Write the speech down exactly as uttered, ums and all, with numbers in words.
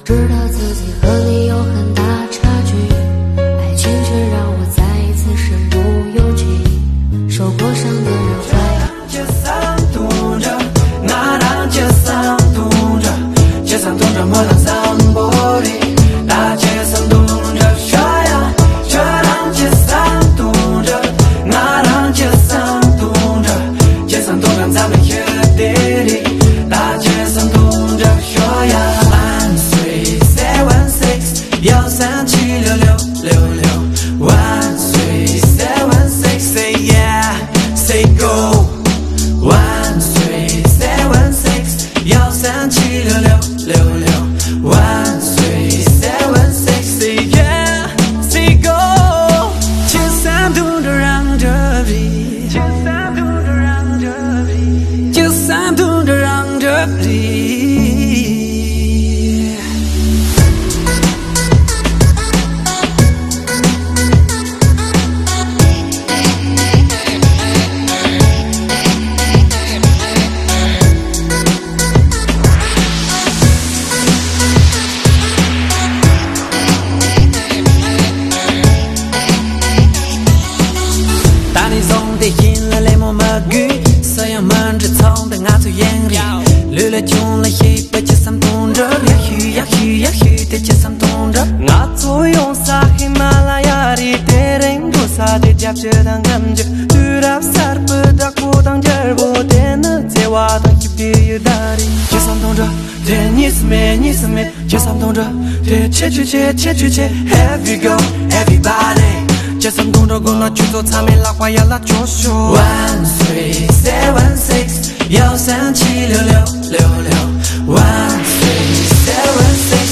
知道自己和你有很大差距，爱情却让我再一次身不由己，受过伤的人会街上堵着，那当街上堵着，街上堵着摩登上玻璃，大街上堵着雪呀，雪当街上堵着，那当街上堵着，街上堵着咱们野地里，大街上堵着雪呀。万岁 seven six 幺三七六六六六，万岁 seven six say yeah say go。万岁 seven six 幺三七六六六六，万岁 seven six say yeah say go。街上堵着让着比，街上堵着让着比，街上堵着让着比。引来雷蒙马雨，摄影们只藏在俺嘴眼里，绿了穷了黑白街上冻着，呀嘘呀嘘呀嘘的街上冻着，俺左用啥喜马拉雅的电人多啥的夹着当感觉，绿了啥不打裤裆尖儿不的呢，在瓦当一边有大的，街上冻着，对你是美你是美，街上冻着，对切去切切去切 ，Have you go everybody。街上冻着公了去做草莓拉花要拉着手。万岁 seven six 幺三七六六六六，万岁 seven six